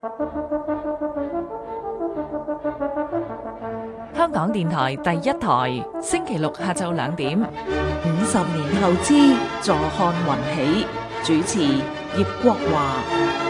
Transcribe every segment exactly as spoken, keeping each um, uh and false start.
香港電台第一台，星期六下晝兩點。 五十年後之坐看雲起，主持葉國華。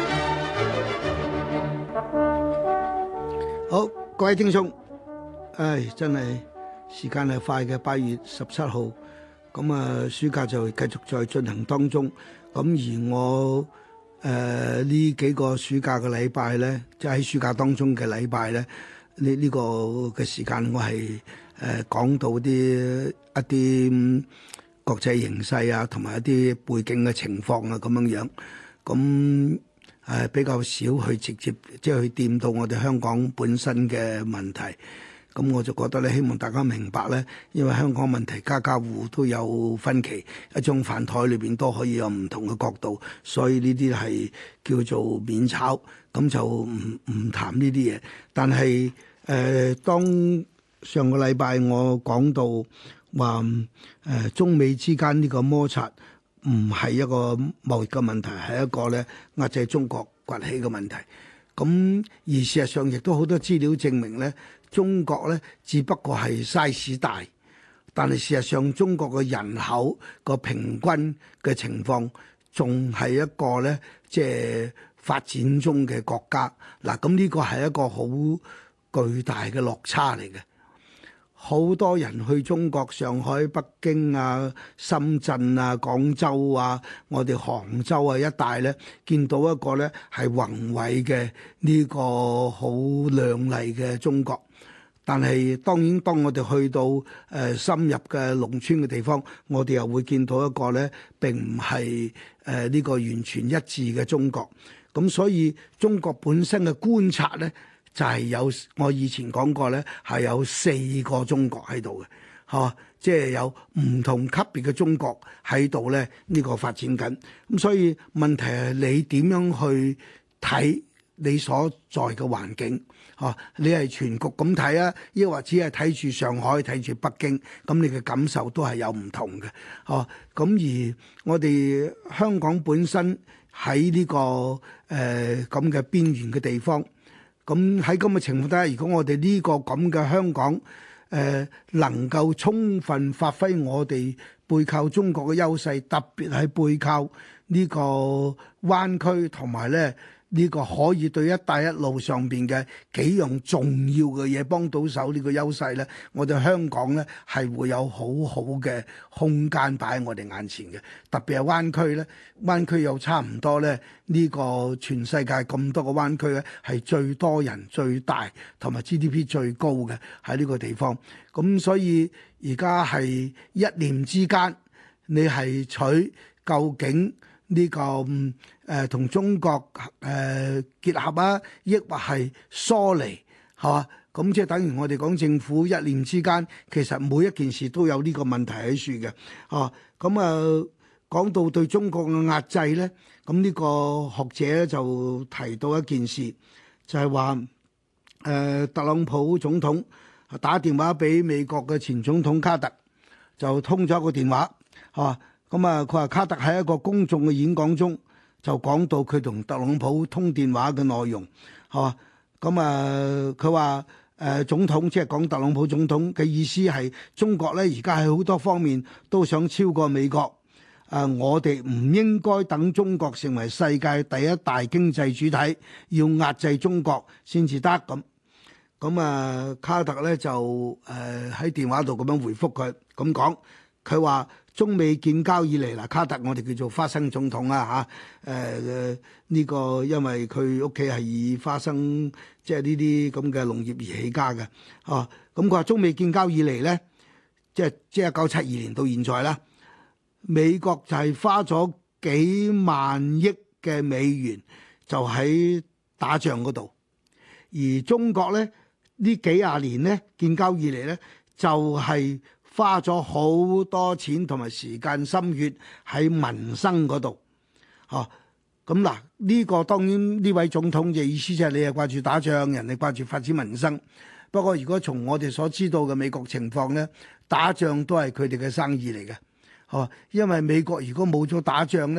好，各位聽眾，唉，真係時間係快嘅，八月十七號，咁啊，暑假就繼續在進行當中。咁而我誒呢、呃、幾個暑假嘅禮拜咧，即係喺暑假當中嘅禮拜咧，呢呢、呢個嘅時間我係誒、呃、講到啲一啲國際形勢啊，同埋一啲背景嘅情況啊，咁樣樣，咁。誒比較少去直接即係去掂到我哋香港本身嘅問題，咁我就覺得咧，希望大家明白咧，因為香港問題家家戶戶都有分歧，一張飯台裏邊都可以有唔同嘅角度，所以呢啲係叫做免炒，咁就唔唔談呢啲嘢。但係誒、呃，當上個禮拜我講到話誒、呃、中美之間呢個摩擦。唔係一個貿易嘅問題，係一個咧壓制中國崛起嘅問題。咁而事實上亦都好多資料證明咧，中國咧只不過係 size 大，但係事實上中國嘅人口個平均嘅情況仲係一個咧即係發展中嘅國家。嗱，咁呢個係一個好巨大嘅落差嚟嘅。好多人去中國上海、北京啊、深圳啊、廣州啊、我哋杭州啊一帶咧，見到一個咧係宏偉嘅呢個好亮麗嘅中國。但係當然，當我哋去到誒、呃、深入嘅農村嘅地方，我哋又會見到一個咧並唔係誒呢個完全一致嘅中國。咁所以中國本身嘅觀察咧。就係有我以前講過咧，係有四個中國喺度嘅，嚇，即係有唔同級別嘅中國喺度咧，呢個發展緊。咁所以問題係你點樣去睇你所在嘅環境？嚇，你係全局咁睇啊，抑或只係睇住上海、睇住北京，咁你嘅感受都係有唔同嘅。嚇，咁而我哋香港本身喺呢個誒咁嘅邊緣嘅地方。咁喺咁嘅情況底下，如果我哋呢個咁嘅香港，誒、呃、能夠充分發揮我哋背靠中國嘅優勢，特別係背靠呢個灣區同埋咧呢個可以對一帶一路上邊嘅幾樣重要嘅嘢幫到手呢個優勢咧，我哋香港咧係會有好好嘅空間擺喺我哋眼前嘅。特別係灣區咧，灣區又差唔多咧，呢個全世界咁多個灣區咧係最多人、最大同埋 G D P 最高嘅喺呢個地方。咁所以而家係一念之間，你係取究竟呢、這個誒同、呃、中國誒、呃、結合啊，抑或係疏離，係嘛？咁即係等於我哋講政府一念之間，其實每一件事都有呢個問題喺處嘅。哦，咁啊講到對中國嘅壓制咧，咁呢個學者咧就提到一件事，就係話誒特朗普總統打電話俾美國嘅前總統卡特，就通咗一個電話，係嘛？咁啊，佢話卡特喺一個公眾嘅演講中就講到佢同特朗普通電話嘅內容，係嘛？咁啊，佢話誒總統即係講特朗普總統嘅意思係中國咧，而家喺好多方面都想超過美國。誒、呃，我哋唔應該等中國成為世界第一大經濟主體，要壓制中國先至得咁。咁啊，卡特咧就誒喺、呃、電話度咁樣回覆佢，咁講，佢話。中美建交以嚟嗱，卡特我哋叫做花生總統啦嚇，誒呢個因為佢屋企係以花生即係呢啲咁嘅農業而起家嘅，哦，咁佢話中美建交以嚟咧，即係即係一九七二年到現在啦，美國就係花咗幾萬億嘅美元就喺打仗嗰度，而中國咧呢幾廿年咧建交以嚟咧就係、是。花咗好多錢同埋時間心血喺民生嗰度，哦，咁嗱呢個當然呢位總統嘅意思就係你係掛住打仗，人哋掛住發展民生。不過如果從我哋所知道嘅美國情況咧，打仗都係佢哋嘅生意嚟嘅，哦，因為美國如果冇咗打仗咧，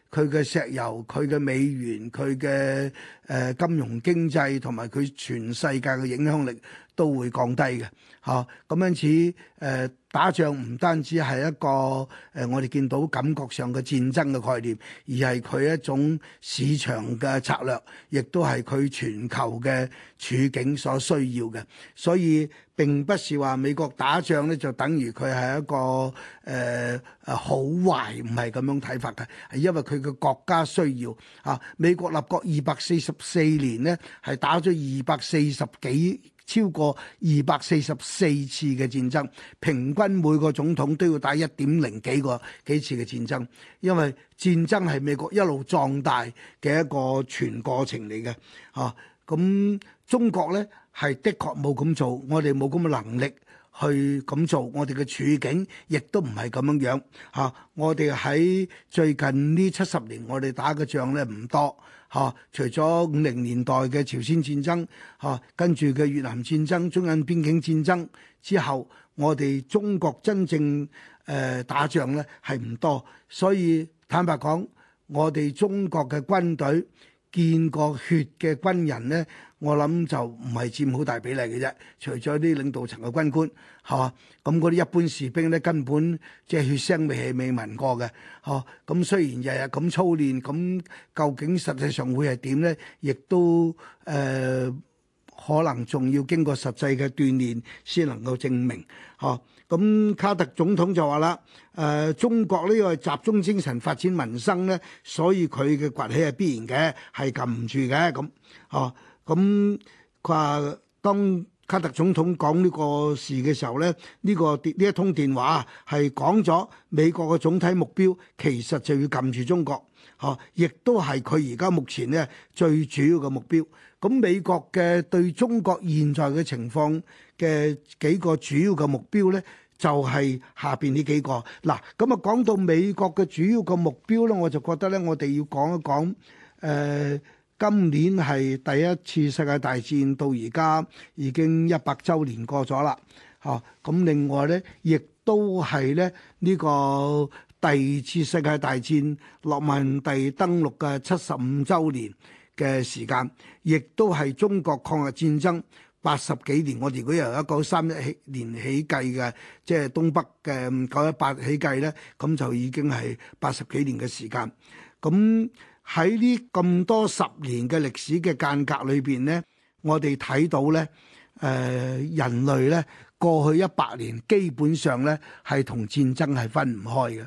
佢嘅石油、佢嘅美元、佢嘅誒金融經濟同埋佢全世界嘅影響力都會降低嘅嚇。咁因此誒、呃、打仗唔單止係一個誒、呃、我哋見到感覺上嘅戰爭嘅概念，而係佢一種市場嘅策略，亦都係佢全球嘅處境所需要嘅。所以並不是話美國打仗咧就等於佢係一個誒誒、呃、好壞，唔係咁樣睇法嘅，係因為佢嘅國家需要啊。美國立國二百四十四年呢，係打咗二百四十幾超過二百四十四次嘅戰爭，平均每個總統都要打一點零幾個幾次嘅戰爭，因為戰爭係美國一路壯大嘅一個全過程嚟嘅啊。咁中國呢，係的確冇咁做，我哋冇咁嘅能力去咁做，我哋嘅處境亦都唔係咁樣樣嚇、啊。我哋喺最近呢七十年，我哋打嘅仗咧唔多嚇、啊，除咗五零年代嘅朝鮮戰爭嚇、啊，跟住嘅越南戰爭、中印邊境戰爭之後，我哋中國真正誒、呃、打仗咧係唔多，所以坦白講，我哋中國嘅軍隊見過血嘅軍人呢，我諗就唔係佔好大比例嘅啫。除咗啲領導層嘅軍官，係嘛？咁嗰啲一般士兵呢，根本即係血腥味係未聞過嘅，嚇。咁雖然日日咁操練，咁究竟實際上會係點呢？亦都誒、呃、可能仲要經過實際嘅鍛鍊先能夠證明，嚇。咁卡特總統就話啦，誒、呃、中國呢個集中精神發展民生咧，所以佢嘅崛起係必然嘅，係撳唔住嘅咁。哦，咁佢話當卡特總統講呢個事嘅時候咧，呢、呢個呢一通電話係講咗美國嘅總體目標，其實就要撳住中國，嚇、哦，亦都係佢而家目前咧最主要嘅目標。咁美國嘅對中國現在嘅情況嘅幾個主要嘅目標呢，就係下邊呢幾個。嗱，咁啊講到美國嘅主要嘅目標呢，我就覺得呢，我哋要講一講。誒、呃，今年係第一次世界大戰到而家已經一百週年過咗啦。嚇、啊，咁另外呢，亦都係咧呢、這個第二次世界大戰諾曼第登陸嘅七十五週年嘅時間，亦都係中國抗日戰爭八十幾年。我哋如果由一九三一年起計嘅，即係東北嘅九一八起計呢，咁就已經係八十幾年嘅時間。咁喺呢咁多十年嘅歷史嘅間隔裏邊呢，我哋睇到呢，誒、呃、人類呢過去一百年基本上呢係同戰爭係分唔開嘅。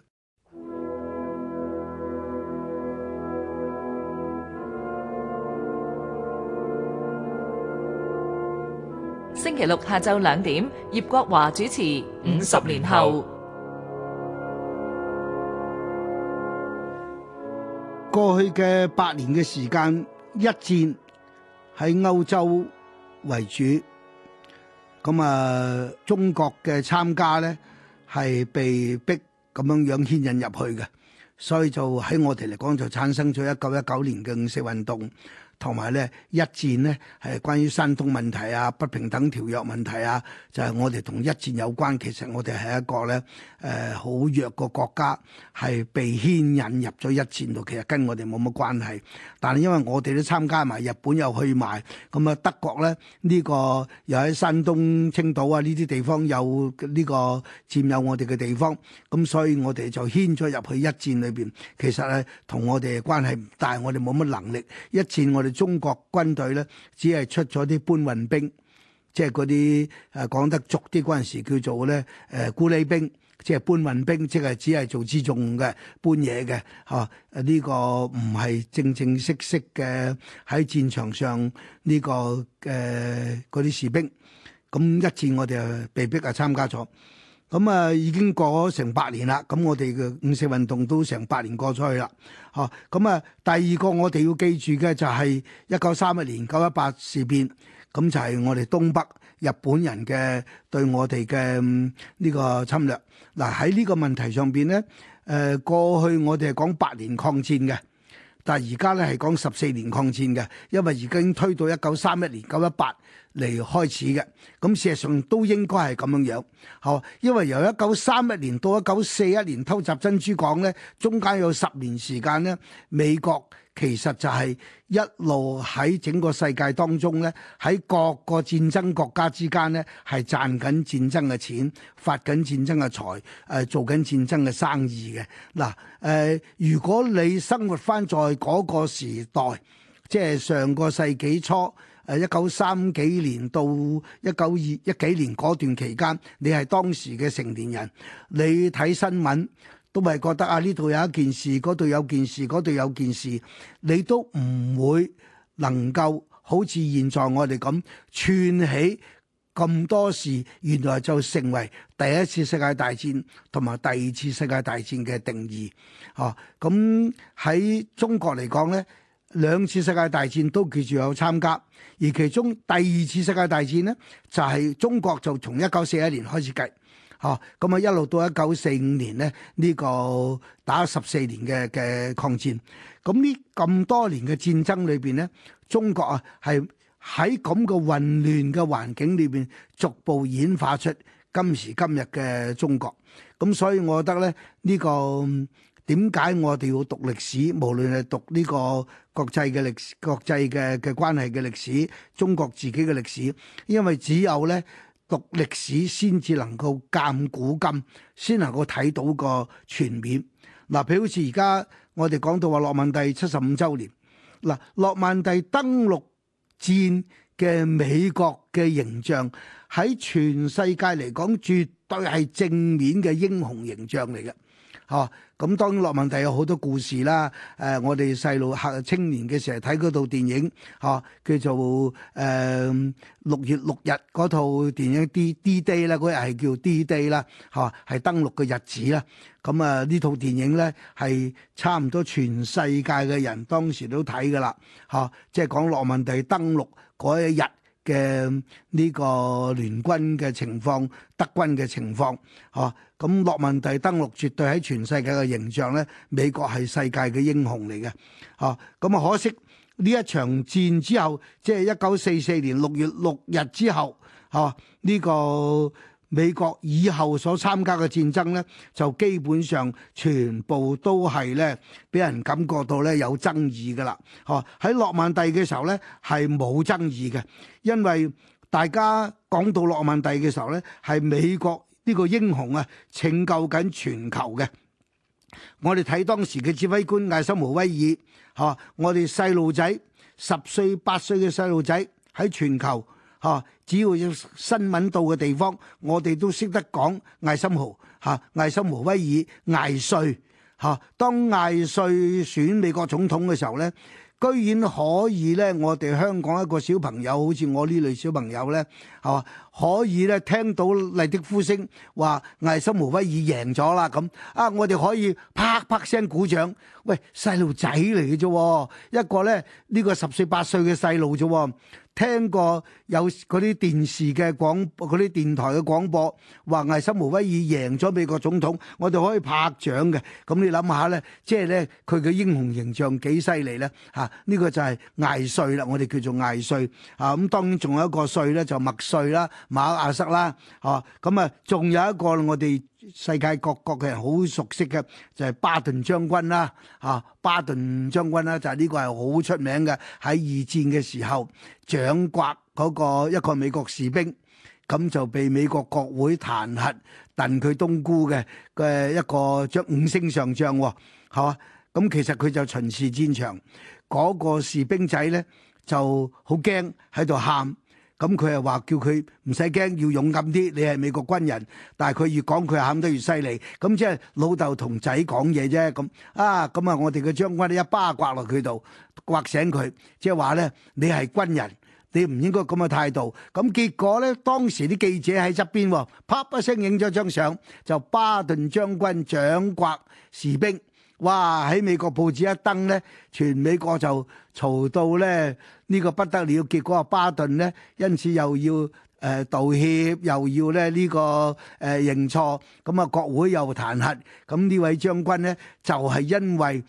星期六下晝兩點，葉國華主持《五十年後》。 過去嘅八年嘅時間，一戰喺歐洲為主，咁啊，中國嘅參加呢係被逼咁樣樣牽引入去嘅，所以就喺我哋嚟講就產生咗一九一九年嘅五四運動。同埋咧一戰咧係關於山東問題啊、不平等條約問題啊，就係、是、我哋同一戰有關。其實我哋係一個咧誒好弱個國家，係被牽引入咗一戰度，其實跟我哋冇乜關係。但係因為我哋都參加埋，日本又去埋，咁啊德國咧呢、這個又喺山東、青島啊呢啲地方有呢個佔有我哋嘅地方，咁所以我哋就牽咗入去一戰裏邊。其實咧同我哋嘅關係唔大，我哋冇乜能力。一戰我哋中國軍隊咧，只係出咗啲搬運兵，即係嗰啲誒講得俗啲嗰陣時叫做咧誒咕喱兵，即係搬運兵，即係只係做輜重嘅搬嘢嘅嚇。誒呢個唔係正正式式嘅喺戰場上呢個誒嗰啲士兵。咁一戰我哋啊被逼啊參加咗。咁啊，已經過咗成八年啦。咁我哋嘅五四運動都成八年過咗去啦。嚇，咁啊，第二個我哋要記住嘅就係一九三一年九一八事變。咁就係我哋東北日本人嘅對我哋嘅呢個侵略。嗱，喺呢個問題上邊咧，誒過去我哋係講八年抗戰嘅， 但係而家咧係講十四年抗戰嘅，因為而家已經推到一九三一年九一八嚟開始嘅。咁事實上都應該係咁樣樣，嚇，因為由一九三一年到一九四一年偷襲珍珠港咧，中間有十年時間咧，美國其實就係一路喺整個世界當中咧，喺各個戰爭國家之間咧係賺緊戰爭嘅錢，發緊戰爭嘅財，誒、呃、做緊戰爭嘅生意嘅。嗱，誒、呃、如果你生活翻在嗰個時代，即係上個世紀初，誒一九三幾年到一九二一幾年嗰段期間，你係當時嘅成年人，你睇新聞都係覺得啊，呢度有一件事，嗰度有件事，嗰度有件事，你都唔會能夠好似現在我哋咁串起咁多事，原來就成為第一次世界大戰同埋第二次世界大戰嘅定義。哦，咁喺中國嚟講呢，兩次世界大戰都叫做有參加，而其中第二次世界大戰呢，就係、是、中國就從一九四一年開始計，嚇咁啊一路到一九四五年呢，呢、這個打十四年嘅嘅抗戰。咁呢咁多年嘅戰爭裏邊呢，中國啊係喺咁嘅混亂嘅環境裏邊，逐步演化出今時今日嘅中國。咁所以我覺得咧，呢、這個點解我哋要讀歷史？無論係讀呢個國際嘅歷史、國際嘅嘅關係嘅歷史、中國自己嘅歷史，因為只有咧讀歷史先至能夠鑑古今，先能夠睇到個全面。嗱，譬如好似而家我哋講到話諾曼第七十五週年，嗱，諾曼第登陸戰嘅美國嘅形象喺全世界嚟講，絕對係正面嘅英雄形象嚟嘅。哦，咁當然諾曼第有好多故事啦。誒、呃，我哋細路客青年嘅時候睇嗰套電影，嚇、哦、叫做誒六、呃、月六日嗰套電影 D D Day 啦，嗰日係叫 D Day 啦，嚇係登陸嘅日子啦。咁啊呢套電影咧係差唔多全世界嘅人當時都睇㗎啦，嚇、哦，即係講諾曼第登陸嗰一日嘅呢個聯軍嘅情況，德軍嘅情況，嚇，咁諾曼第登陸絕對喺全世界嘅形象咧，美國係世界嘅英雄嚟嘅，嚇，咁啊可惜呢一場戰之後，即係一九四四年六月六日之後，嚇，呢個美國以後所參加嘅戰爭咧，就基本上全部都係咧，俾人感覺到咧有爭議㗎啦。嚇，喺諾曼第嘅時候咧係冇爭議嘅，因為大家講到諾曼第嘅時候咧，係美國呢個英雄啊拯救緊全球嘅。我哋睇當時嘅指揮官艾森豪威爾，嚇，我哋細路仔十歲八歲嘅細路仔喺全球。嚇！只要有新聞到嘅地方，我哋都識得講艾森豪嚇，艾森豪威爾艾帥嚇。當艾帥選美國總統嘅時候咧，居然可以咧，我哋香港一個小朋友，好似我呢類小朋友咧，係嘛，可以咧聽到麗的呼聲話艾森豪威爾贏咗啦咁啊！我哋可以啪啪聲鼓掌。喂，細路仔嚟嘅啫，一個咧呢個十歲八歲嘅細路啫。聽過有嗰啲電視嘅廣嗰啲電台嘅廣播，話艾森豪威爾贏咗美國總統，我哋可以拍掌嘅。咁你諗下咧，即係咧佢嘅英雄形象幾犀利咧嚇？呢個就係艾帥啦，我哋叫做艾帥啊。咁當然仲有一個帥咧，就麥帥啦、馬克亞瑟啦嚇。咁啊，仲有一個我哋世界各國嘅人好熟悉嘅就係巴頓將軍啦嚇。巴頓將軍啦，就係呢個係好出名嘅，喺二戰嘅時候掌摑嗰個一個美國士兵，咁就被美國國會彈劾燉佢冬菇嘅嘅一個將五星上將喎，係嘛？咁其實佢就巡視戰場，嗰個士兵仔咧就好驚喺度喊。咁佢又話叫佢唔使驚，要勇敢啲。你係美國軍人，但係佢越講佢喊得越犀利。咁即係老豆同仔講嘢啫。咁啊，咁啊，我哋嘅將軍咧一巴刮落佢度，刮醒佢，即係話咧，你係軍人，你唔應該咁嘅態度。咁結果咧，當時啲記者喺側邊，啪一聲影咗張相，就巴頓將軍掌摑士兵。哇！喺美國報紙一登咧，全美國就嘈到咧呢個不得了。結果阿巴頓咧，因此又要誒、呃、道歉，又要咧呢、這個誒、呃、認錯。咁啊，國會又彈劾。咁呢位將軍咧，就係、是、因為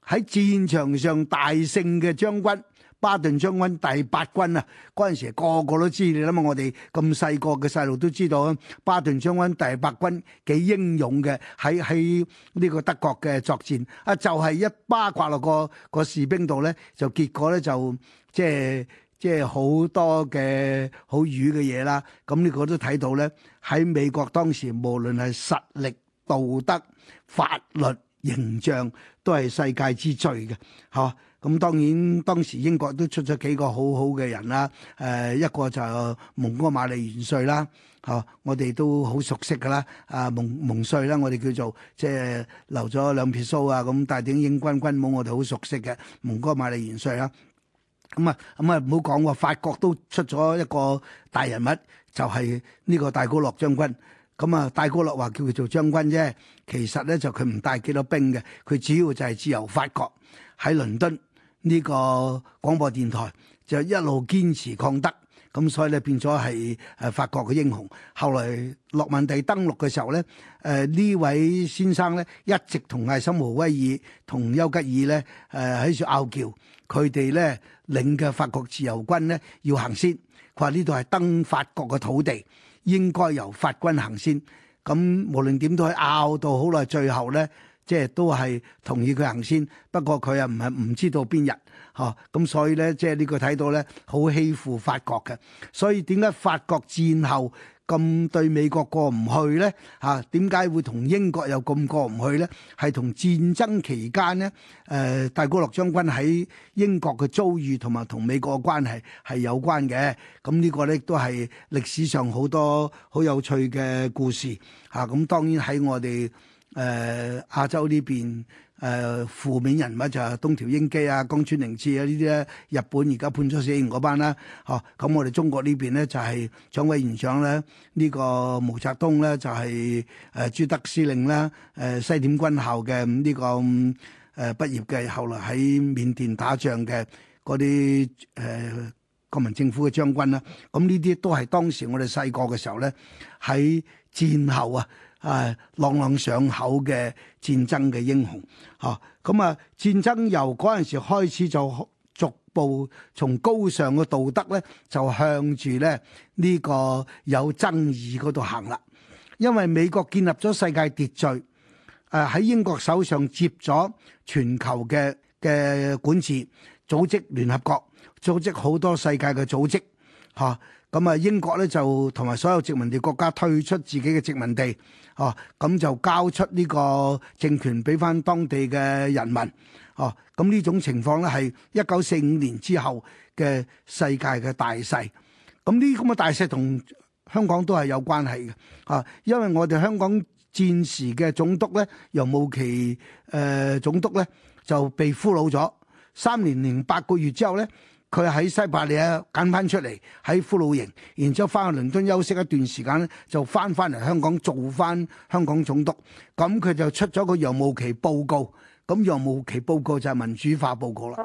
喺戰場上大勝嘅將軍。巴頓將軍第八軍啊，嗰陣時個個都知，你諗下我哋咁細個嘅細路都知道啊。巴頓將軍第八軍幾英勇嘅，喺喺呢個德國嘅作戰啊，就係、是、一巴刮落個個士兵度咧，就結果咧就即係即係好多嘅好瘀嘅嘢啦。咁呢個都睇到咧，喺美國當時無論係實力、道德、法律、形象，都係世界之最嘅，嚇。咁當然當時英國都出咗幾個好好嘅人啦，誒、呃、一個就蒙哥馬利元帥啦，嚇、啊、我哋都好熟悉噶啦，啊蒙蒙帥啦，我哋叫做即係留咗兩撇鬚啊，咁帶頂英軍軍帽，我哋好熟悉嘅蒙哥馬利元帥啦。咁啊咁啊唔好講喎，法國都出咗一個大人物，就係、是、呢個戴高樂將軍。咁啊，戴高樂話叫佢做將軍啫，其實咧就佢唔帶幾多兵嘅，佢主要就係自由法國喺倫敦。呢個廣播電台就一路堅持抗德，咁所以咧變咗係誒法國嘅英雄。後來諾曼第登陸嘅時候咧，誒、呃、呢位先生咧一直同艾森豪威爾同丘吉爾咧誒喺度拗撬，佢哋咧領嘅法國自由軍咧要行先，佢話呢度係登法國嘅土地，應該由法軍行先。咁無論點都係拗到好耐，最後咧。即係都係同意佢行先，不過佢又唔係唔知道邊日，嚇咁所以咧，即係呢個睇到咧，好欺負法國嘅。所以點解法國戰後咁對美國過唔去咧？嚇點解會同英國又咁過唔去咧？係同戰爭期間咧，誒戴高樂將軍喺英國嘅遭遇同埋同美國嘅關係係有關嘅。咁呢個咧都係歷史上好多好有趣嘅故事嚇。咁當然喺我哋。誒、呃、亞洲呢邊誒、呃、負面人物就係東條英機啊、江村寧次啊呢啲咧，日本而家判咗死刑嗰班啦，嚇、啊、咁我哋中國呢邊咧就係、是、蔣委員長咧，呢、這個毛澤東咧就係、是、誒、呃、朱德司令啦，誒、呃、西點軍校嘅呢、這個誒畢、呃、業嘅，後來喺緬甸打仗嘅嗰啲誒國民政府嘅將軍啦，咁呢啲都係當時我哋細個嘅時候咧喺戰後啊。啊，朗朗上口嘅戰爭嘅英雄，嚇咁啊！戰爭由嗰陣時開始就逐步從高尚嘅道德咧，就向住咧呢個有爭議嗰度行啦。因為美國建立咗世界秩序，誒、啊、喺英國手上接咗全球嘅嘅管治，組織聯合國，組織好多世界嘅組織，嚇。咁啊，英國咧就同埋所有殖民地國家退出自己嘅殖民地，哦，咁就交出呢個政權俾翻當地嘅人民，哦，咁呢種情況咧係一九四五年之後嘅世界嘅大勢。咁呢咁嘅大勢同香港都係有關係嘅，啊，因為我哋香港戰時嘅總督咧，楊慕琦誒總督咧就被俘虜咗三年零八個月之後咧。佢喺西伯利亞揀翻出嚟喺俘虜營，然之後翻去倫敦休息一段時間咧，就翻翻嚟香港做翻香港總督。咁佢就出咗個楊慕琦報告。咁楊慕琦報告就係民主化報告啦。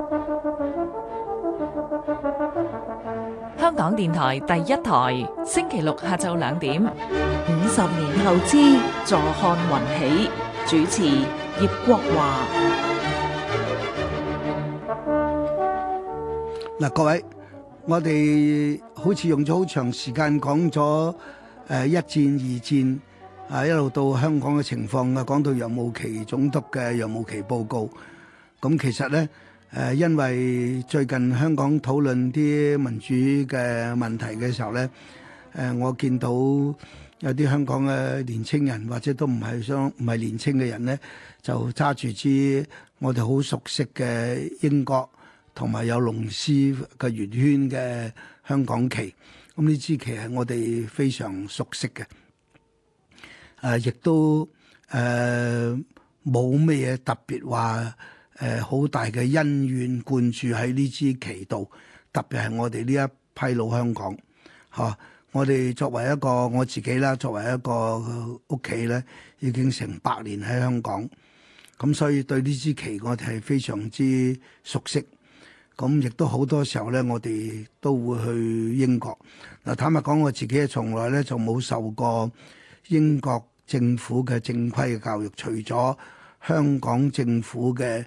香港電台第一台，星期六下晝兩點。 五十年後之坐看雲起，主持葉國華。 嗱，各位，我哋好似用咗好長時間講咗誒一戰、二戰啊，一路到香港嘅情況啊，講到楊慕琦總督嘅楊慕琦報告。咁其實咧誒，因為最近香港討論啲民主嘅問題嘅時候咧，誒我見到有啲香港嘅年青人或者都唔係相唔係年青嘅人咧，就揸住支我哋好熟悉嘅英國同埋有龍獅嘅圓圈嘅香港旗，咁呢支旗係我哋非常熟悉嘅，誒、呃，亦都誒冇咩嘢特別話誒好大嘅恩怨灌注喺呢支旗度，特別係我哋呢一批老香港，嚇、啊，我哋作為一個我自己啦，作為一個屋企咧，已經成百年喺香港，咁所以對呢支旗我哋係非常之熟悉。咁亦都好多時候咧，我哋都會去英國。嗱，坦白講，我自己從來咧就冇受過英國政府嘅正規嘅教育，除咗香港政府嘅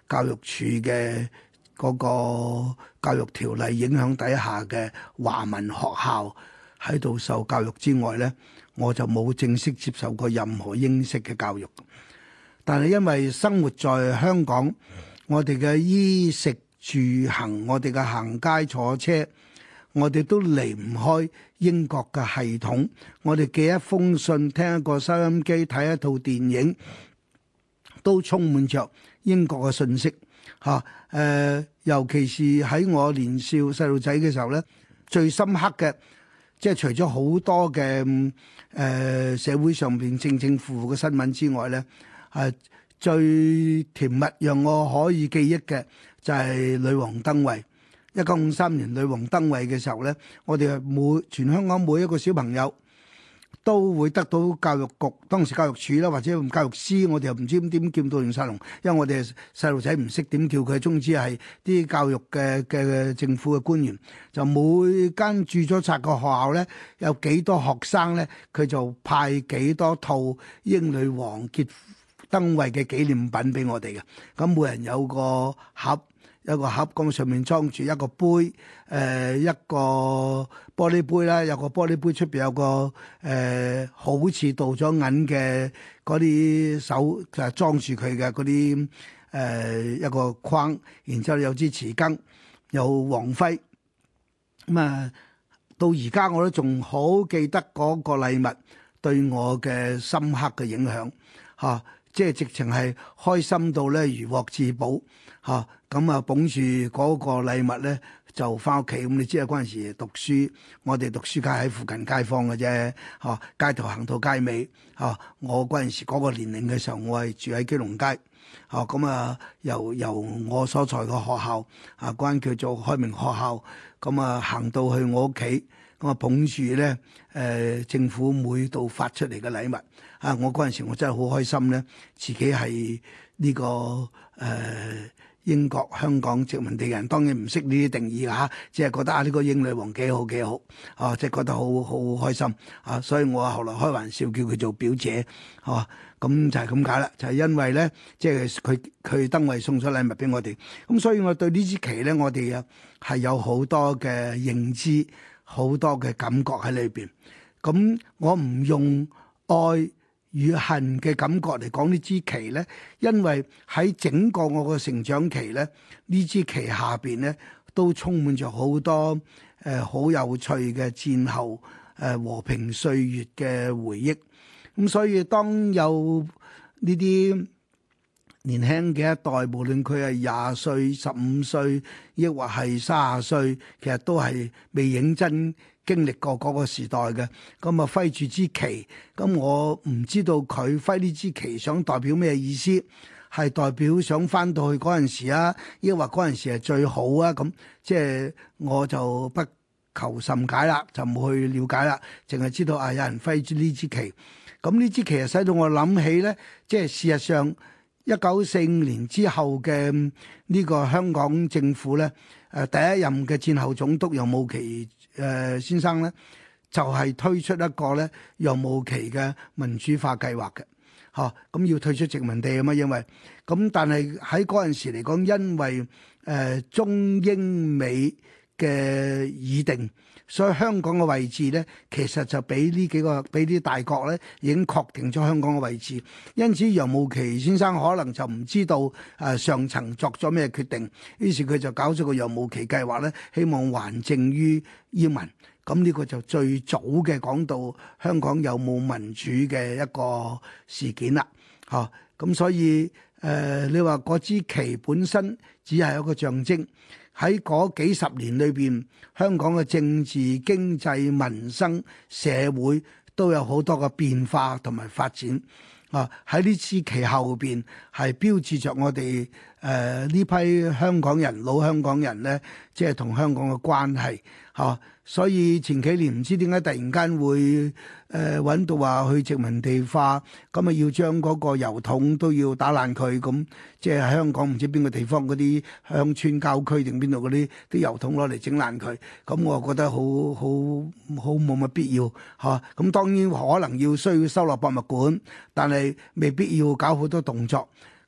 教育處嘅嗰個教育條例影響底下嘅華文學校喺度受教育之外咧，我就冇正式接受過任何英式嘅教育。但係因為生活在香港，我哋嘅衣食住行，我哋嘅行街坐車，我哋都離唔開英國嘅系統。我哋寄一封信，聽一個收音機，睇一套電影，都充滿着英國嘅信息嚇。誒、呃，尤其是喺我年少細路仔嘅時候咧，最深刻嘅。即係除咗好多嘅誒、呃、社會上邊正正負負嘅新聞之外咧，係、啊、最甜蜜讓我可以記憶嘅就係女王登位。一九五三年女王登位嘅時候咧，我哋係每全香港每一個小朋友都會得到教育局當時教育處啦，或者教育司，我哋又唔知點叫到亂晒龍，因為我哋細路仔唔識點叫佢，總之係啲教育嘅嘅政府嘅官員，就每間註咗冊個學校咧，有幾多學生咧，佢就派幾多套英女王結登位嘅紀念品俾我哋嘅。咁每人有個盒。一個盒咁上面裝住一個杯，誒、呃、一個玻璃杯啦，有個玻璃杯出邊有個誒、呃、好似鍍咗銀嘅嗰啲手就係裝住佢嘅嗰啲誒一個框，然之後有支匙羹，有王徽。咁啊，到而家我都仲好記得嗰個禮物對我嘅深刻嘅影響嚇。啊即係直情係開心到咧如獲至寶嚇，咁啊捧住嗰個禮物咧就翻屋企。咁你知啊，嗰陣時讀書，我哋讀書街喺附近街坊嘅啫嚇，街頭行到街尾嚇。我嗰陣時嗰個年齡嘅時候，我係住喺基隆街嚇，咁啊由由我所在嘅學校啊，嗰間叫做開明學校，咁啊行到去我屋企。咁啊捧住咧，誒、呃、政府每度發出嚟嘅禮物啊！我嗰陣時我真係好開心咧，自己係呢、這個誒、呃、英國香港殖民地人，當然唔識呢啲定義嚇，只係覺得啊呢、這個英女王幾好幾好啊，即係覺得好好開心啊！所以我後來開玩笑叫佢做表姐，係、啊、咁就係咁解啦，就係、是、因為咧，即係佢佢登位送咗禮物俾我哋，咁所以我對呢支旗咧，我哋啊係有好多嘅認知。好多嘅感覺喺裏邊，咁我唔用愛與恨嘅感覺嚟講呢支旗咧，因為喺整個我嘅成長期咧，呢支旗下邊咧都充滿着好多誒好、呃、有趣嘅戰後誒、呃、和平歲月嘅回憶。咁所以當有呢啲年輕嘅一代，無論佢係廿歲、十五歲，抑或係三十歲，其實都係未認真經歷過嗰個時代嘅。咁啊，揮住支旗，咁我唔知道佢揮呢支旗想代表咩意思，係代表想翻到去嗰陣時啊，抑或嗰陣時係最好啊？咁即係我就不求甚解啦，就冇去了解啦，淨係知道啊，有人揮住呢支旗。咁呢支旗啊，使到我諗起咧，即係事實上。一九四五年之後嘅呢個香港政府咧，誒第一任嘅戰後總督楊慕琦誒先生咧，就係、是、推出一個咧楊慕琦嘅民主化計劃嘅，嚇、啊、咁要退出殖民地啊嘛，因為咁但係喺嗰陣時嚟講，因為誒、呃、中英美嘅議定。所以香港嘅位置咧，其實就俾呢幾個俾啲大國咧，已經確定咗香港嘅位置。因此楊慕琦先生可能就唔知道誒、呃、上層作咗咩決定，於是佢就搞咗個楊慕琦計劃咧，希望還政於英民。咁呢個就最早嘅講到香港有冇民主嘅一個事件啦。嚇、啊，咁所以誒、呃，你話嗰支旗本身只係一個象徵。喺嗰幾十年裏邊，香港嘅政治、經濟、民生、社會都有好多嘅變化同埋發展。啊，喺呢支旗後邊係標誌着我哋誒呢批香港人、老香港人咧，即係同香港嘅關係。嚇、啊，所以前幾年唔知點解突然間會誒揾到話去殖民地化，咁啊要將嗰個郵筒都要打爛佢，咁即係香港唔知邊個地方嗰啲鄉村郊區定邊度嗰啲啲郵筒攞嚟整爛佢，咁我覺得好好好冇乜必要嚇。咁、啊、當然可能要需要收落博物館，但係未必要搞好多動作。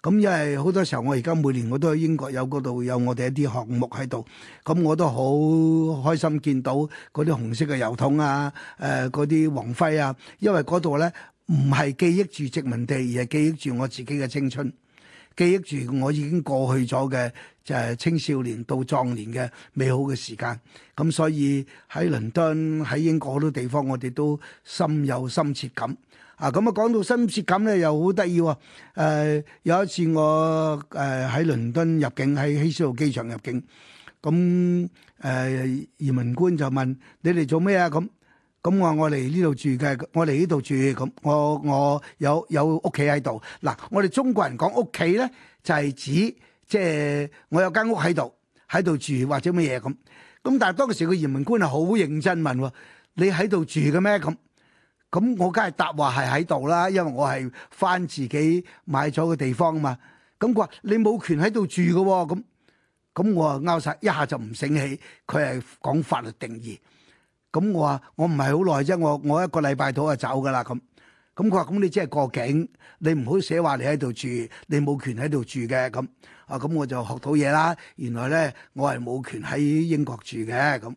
咁因為好多時候我而家每年我都喺英國有嗰度有我哋一啲項目喺度，咁我都好開心見到嗰啲紅色嘅郵筒啊，誒嗰啲黃徽啊，因為嗰度咧唔係記憶住殖民地，而係記憶住我自己嘅青春，記憶住我已經過去咗嘅就係青少年到壯年嘅美好嘅時間。咁所以喺倫敦喺英國好多地方，我哋都深有深切感。啊，咁啊講到深切感咧，又好得意喎。誒有一次我誒喺倫敦入境，喺希斯路機場入境，咁誒、呃、移民官就問你哋做咩啊？咁咁我話我嚟呢度住嘅，我嚟呢度住，咁我我有有屋企喺度。嗱，我哋中國人講屋企咧，就係、是、指即係我有間屋喺度，喺度住或者乜嘢咁。咁但係當時個移民官係好認真問喎，你喺度住嘅咩？咁咁我梗係答話係喺度啦，因為我係返自己買咗個地方嘛。咁佢話你冇權喺度住嘅喎，咁咁我啊拗晒，一下就唔醒起，佢係講法律定義。咁我話我唔係好耐啫，我我一個禮拜到就走噶啦咁。咁佢話咁你即係過境，你唔好寫話你喺度住，你冇權喺度住嘅咁。啊咁我就學到嘢啦，原來咧我係冇權喺英國住嘅咁。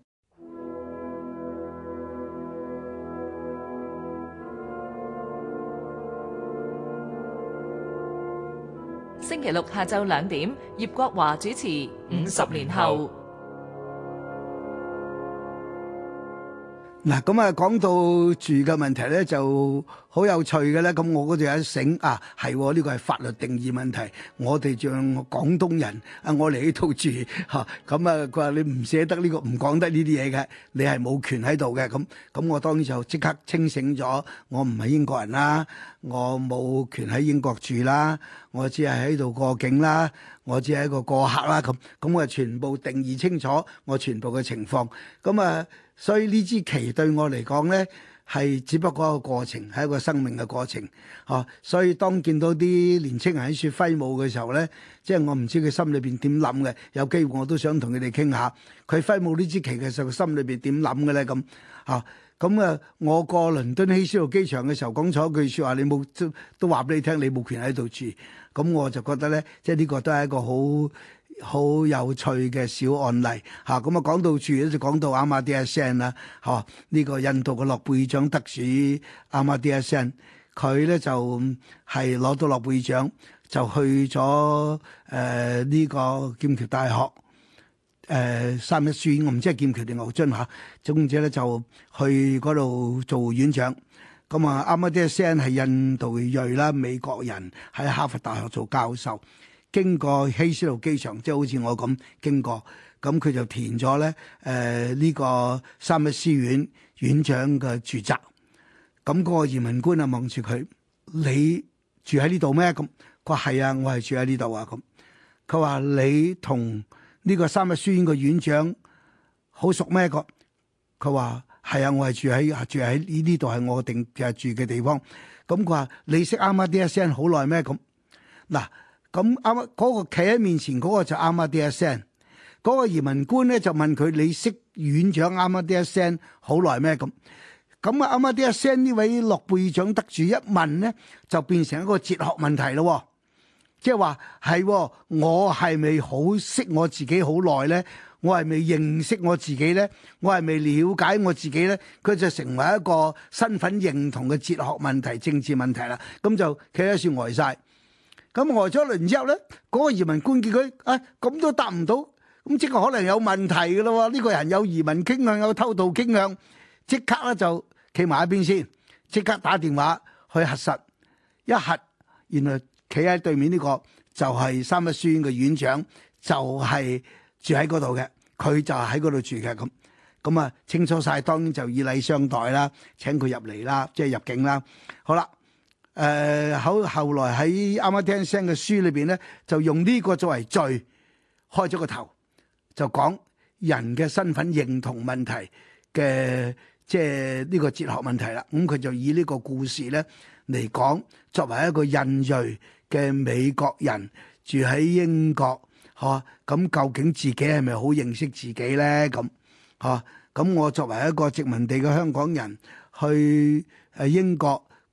星期六下晝兩點，葉國華主持《五十年後》。 嗱，咁啊，講到住嘅問題咧，就好有趣嘅咧。咁我嗰度有一醒啊，係呢個係法律定義問題。我哋像廣東人啊，我嚟呢度住嚇，咁啊，佢話你唔捨得呢個，唔講得呢啲嘢嘅，你係冇權喺度嘅。咁咁，我當然就即刻清醒咗，我唔係英國人啦，我冇權喺英國住啦，我只係喺度過境啦，我只係一個過客啦。咁咁我全部定義清楚我全部嘅情況。咁啊〜所以呢支旗對我嚟講咧，係只不過一個過程，係一個生命嘅過程，嚇、啊。所以當見到啲年青人喺處揮舞嘅時候咧，即係我唔知佢心裏邊點諗嘅。有機會我都想同佢哋傾下，佢揮舞呢支旗嘅時候，心裏邊點諗嘅咧咁嚇。咁啊，我過倫敦希斯路機場嘅時候講錯一句説話，你冇都都話俾你聽，你冇權喺度住。咁我就覺得咧，即係呢個都係一個好好有趣嘅小案例嚇。咁啊講到住咧，就講到阿馬蒂亞森啦嚇，呢個印度嘅諾貝爾獎得主阿馬蒂亞森，佢咧就係攞到諾貝爾獎，就去咗誒呢個劍橋大學誒、呃、三一書院，我唔知係劍橋定牛津嚇，總之咧就去嗰度做院長。咁啊，阿馬蒂亞森係印度裔啦，美國人喺哈佛大學做教授。經過希斯路機場，即係好似我咁經過，咁佢就填咗咧誒呢個三一書院院長嘅住宅。咁嗰個移民官啊望住佢，你住喺呢度咩？咁佢話係啊，我係住喺呢度啊。咁佢話你同呢個三一書院嘅院長好熟咩？個佢話係啊，我係住喺住喺呢呢度係我定嘅住嘅地方。咁佢話你識阿馬蒂亞森好耐咩？咁嗱。咁啱嗰個企喺面前嗰個就阿馬蒂亞森，嗰個移民官咧就問佢：你識院長阿馬蒂亞森好耐咩？咁咁啊，阿馬蒂亞森呢位諾貝爾獎得主一問咧，就變成一個哲學問題咯。即係話係我係咪好識我自己好耐咧？我係咪認識我自己咧？我係咪了解我自己咧？佢就成為一個身份認同嘅哲學問題、政治問題啦。咁就企喺處呆晒。咁呆咗一輪之後咧，嗰、那個移民官見佢啊，咁都答唔到，咁即係可能有問題嘅咯喎。呢、這個人有移民傾向，有偷渡傾向，即刻咧就企埋一邊先，即刻打電話去核實。一核，原來企喺對面呢個就係三一書院嘅院長，就係、是、住喺嗰度嘅，佢就喺嗰度住嘅咁。咁啊清楚晒，當然就以禮相待啦，請佢入嚟啦，即係入境啦。好啦。誒後、呃、後來喺阿馬蒂亞森嘅書裏邊咧，就用呢個作為序開咗個頭，就講人嘅身份認同問題嘅，即係呢個哲學問題啦。咁、嗯、佢就以呢個故事咧嚟講，作為一個印裔嘅美國人住喺英國，嚇、啊、咁究竟自己係咪好認識自己咧？咁嚇咁我作為一個殖民地嘅香港人去誒英國。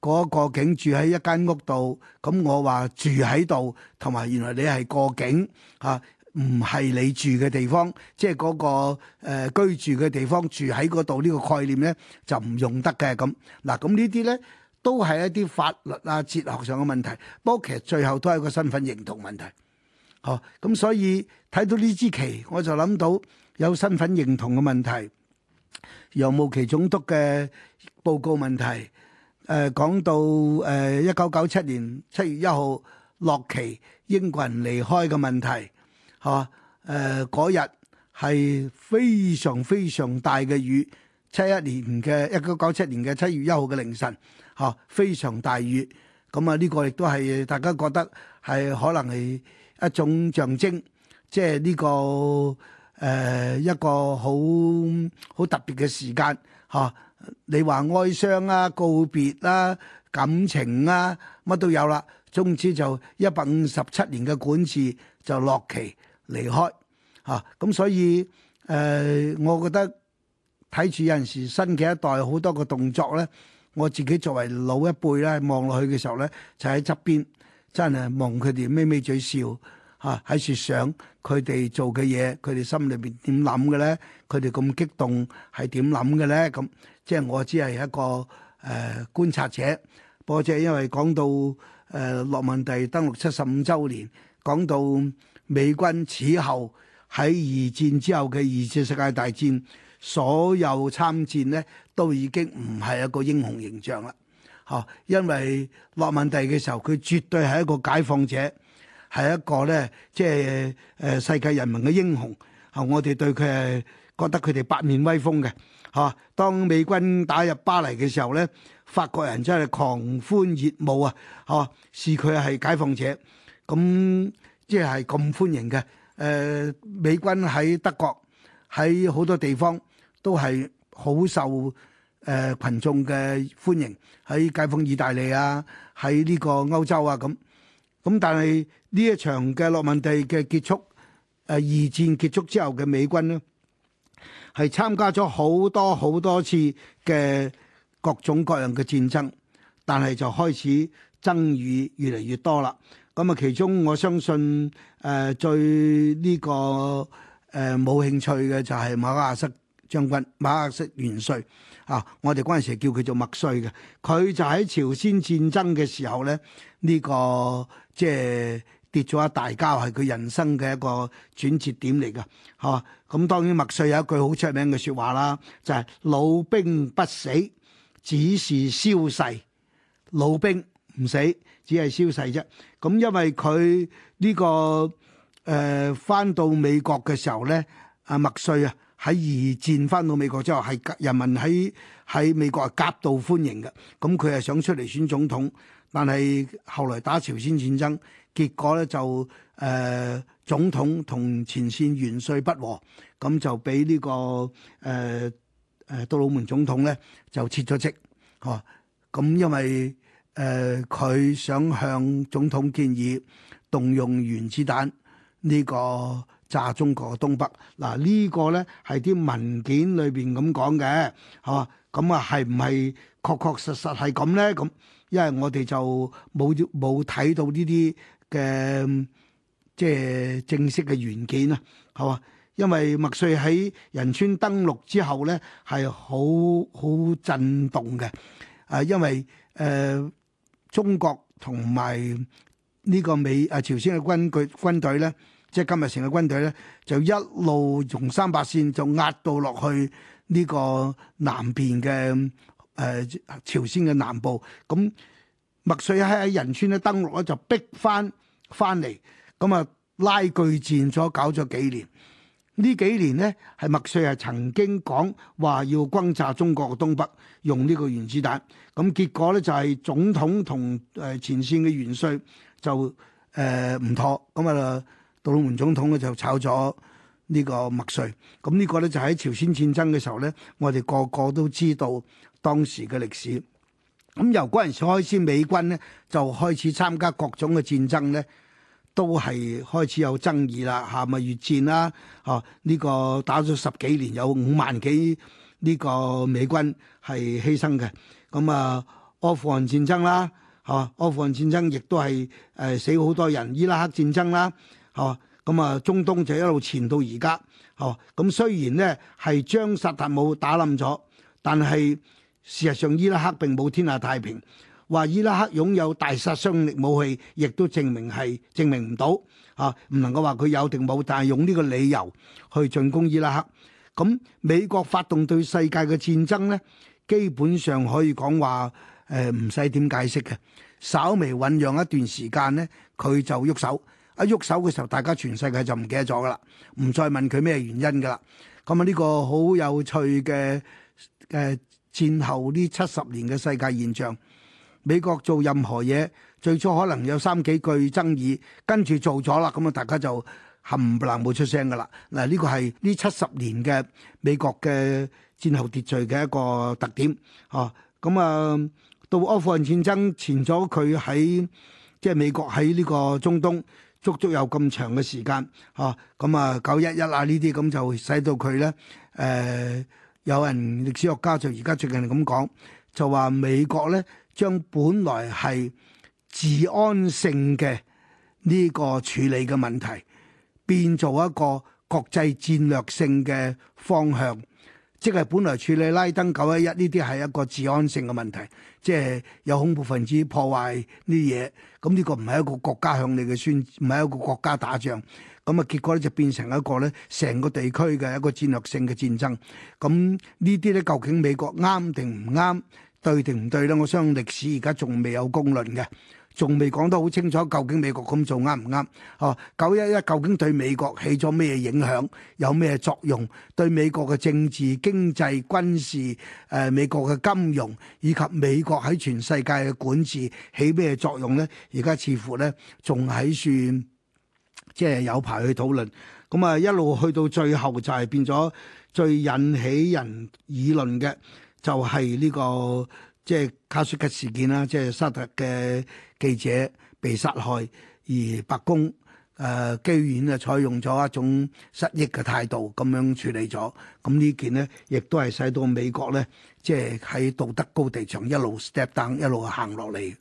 嗰個境住喺一間屋度，咁我話住喺度，同埋原來你係過境嚇，唔係你住嘅地方，即係嗰個、呃、居住嘅地方住喺嗰度呢個概念咧就唔用得嘅咁。嗱，咁呢啲咧都係一啲法律啊、哲學上嘅問題，不過其實最後都係一個身份認同問題。哦，咁所以睇到呢支旗，我就諗到有身份認同嘅問題，楊慕琦總督嘅報告問題，誒、呃、講到誒一九九七年七月一號落旗英國人離開嘅問題，嚇誒嗰日係非常非常大嘅雨，七一年嘅一九九七年嘅七月一號嘅凌晨，嚇、啊、非常大雨，咁啊呢個亦都係大家覺得係可能係一種象徵，即係呢個誒、呃、一個好好特別嘅時間嚇、啊。你話哀傷啊、告別啦、啊、感情啊，乜都有啦。總之就一百五十七年嘅管治就落旗離開嚇。咁、啊、所以誒、呃，我覺得睇住有陣時新嘅一代好多個動作咧，我自己作為老一輩咧望落去嘅時候咧，就喺側邊。真係望佢哋咪咪嘴笑嚇，喺處想佢哋做嘅嘢，佢哋心裏邊點諗嘅咧？佢哋咁激動係點諗嘅咧？咁即係我只係一個誒、呃、觀察者。不過即係因為講到誒諾曼第登陸七十五週年，講到美軍此後喺二戰之後嘅二次世界大戰，所有參戰咧都已經唔係一個英雄形象啦。嚇，因為諾曼第嘅時候，佢絕對係一個解放者，係一個咧，即係誒世界人民嘅英雄。嚇，我哋對佢係覺得佢哋八面威風嘅。嚇，當美軍打入巴黎嘅時候咧，法國人真係狂歡熱舞啊！嚇，視佢係解放者，咁即係咁歡迎嘅。誒，美軍喺德國喺好多地方都係好受誒羣眾嘅歡迎，喺解放意大利啊，喺呢個歐洲啊咁，咁但係呢一場嘅諾曼第嘅結束，誒二戰結束之後嘅美軍呢，係參加咗好多好多次嘅各種各樣嘅戰爭，但係就開始爭議越嚟越多啦。咁啊，其中我相信誒、呃、最呢、這個誒冇、呃、興趣嘅就係馬克思將軍、馬克思元帥。啊！我哋嗰陣時叫佢做麥帥嘅，佢就喺朝鮮戰爭嘅時候咧，呢、這個即係跌咗一大跤，係佢人生嘅一個轉折點嚟㗎。嚇、啊！咁當然麥帥有一句好出名嘅説話啦，就係、是、老兵不死，只是消逝。老兵唔死，只係消逝啫。咁因為佢呢、這個誒翻、呃、到美國嘅時候咧，阿麥帥啊。喺二戰翻到美國之後，係人民喺喺美國係夾道歡迎嘅。咁佢係想出嚟選總統，但係後來打朝鮮戰爭，結果咧就誒、呃、總統同前線元帥不和，咁就俾呢、這個誒誒、呃、杜魯門總統咧就撤咗職。嚇、啊，咁因為誒佢、呃、想向總統建議動用原子彈呢、這個。炸中國嘅東北，嗱、這個、呢個咧係啲文件裏邊咁講嘅，嚇，咁啊係唔係確確實實係咁咧？咁因為我哋就冇冇睇到呢啲嘅即係正式嘅原件啊，係嘛？因為麥帥喺仁川登陸之後咧係好好震動嘅，啊，因為誒、呃、中國同埋呢個美啊朝鮮嘅軍隊軍隊咧。即係今日成個軍隊咧，就一路從三八線就壓到落去呢個南邊嘅誒、呃、朝鮮嘅南部。咁麥帥喺喺仁川咧登陸咧，就逼翻翻嚟。咁啊拉鋸戰咗搞咗幾年。呢幾年咧係麥帥係曾經講話要轟炸中國嘅東北，用呢個原子彈。咁結果咧就係、是、總統同誒前線嘅元帥就誒唔、呃、妥。咁啊〜杜魯門總統咧就炒咗呢個麥帥，咁呢個咧就喺朝鮮戰爭嘅時候咧，我哋個個都知道當時嘅歷史。咁由嗰陣時開始，美軍咧就開始參加各種嘅戰爭咧，都係開始有爭議啦。嚇咪越戰啦，嚇呢個打咗十幾年，有五萬幾呢個美軍係犧牲嘅。咁啊， 阿富汗戰爭啦，嚇阿富汗戰爭亦都係誒死好多人，伊拉克戰爭啦，嚇咁啊中東就一路傳到而家，嚇咁雖然呢係將薩達姆打冧咗，但係事實上伊拉克並冇天下太平。話伊拉克擁有大殺傷力武器，亦都證明係證明唔到嚇，唔能夠話佢有定冇，但係用呢個理由去進攻伊拉克。咁美國發動對世界嘅戰爭呢，基本上可以講話誒唔使點解釋嘅，稍微醖釀一段時間呢，佢就喐手。一喐手嘅時候，大家全世界就唔記得咗噶啦，唔再問佢咩原因噶啦。咁啊呢個好有趣嘅誒戰後呢七十年嘅世界現象。美國做任何嘢，最初可能有三幾句爭議，跟住做咗啦，咁啊大家就冚唪唥冇出聲噶啦。嗱，呢個係呢七十年嘅美國嘅戰後秩序嘅一個特點。哦，咁啊到阿富汗戰爭前咗佢喺即係美國喺呢個中東足足有咁長嘅時間。哦，咁啊九一一啊呢啲咁就使到佢咧誒，有人歷史學家就而家最近咁講，就話美國咧，將本來係治安性嘅呢個處理嘅問題，變做一個國際戰略性嘅方向，即係本來處理拉登九一一呢啲係一個治安性嘅問題，即係有恐怖分子破壞呢啲嘢，咁呢個唔係一個國家向你嘅宣，唔係一個國家打仗，咁啊結果咧就變成一個咧成個地區嘅一個戰略性嘅戰爭。咁呢啲咧究竟美國啱定唔啱？對定唔對咧？我相信歷史而家仲未有公論嘅，仲未講得好清楚，究竟美國咁做啱唔啱？哦，九一一究竟對美國起咗咩影響？有咩作用？對美國嘅政治、經濟、軍事、誒、呃、美國嘅金融以及美國喺全世界嘅管治起咩作用咧？而家似乎咧仲喺算即係有排去討論。咁啊一路去到最後就係變咗最引起人議論嘅。就係呢、這個即係卡舒吉事件啦，即係沙特嘅記者被殺害，而白宮誒、呃、機院啊採用咗一種失憶嘅態度咁樣處理咗。咁呢件呢，亦都係使到美國咧，即係喺道德高地上一路 step down 一路行落嚟。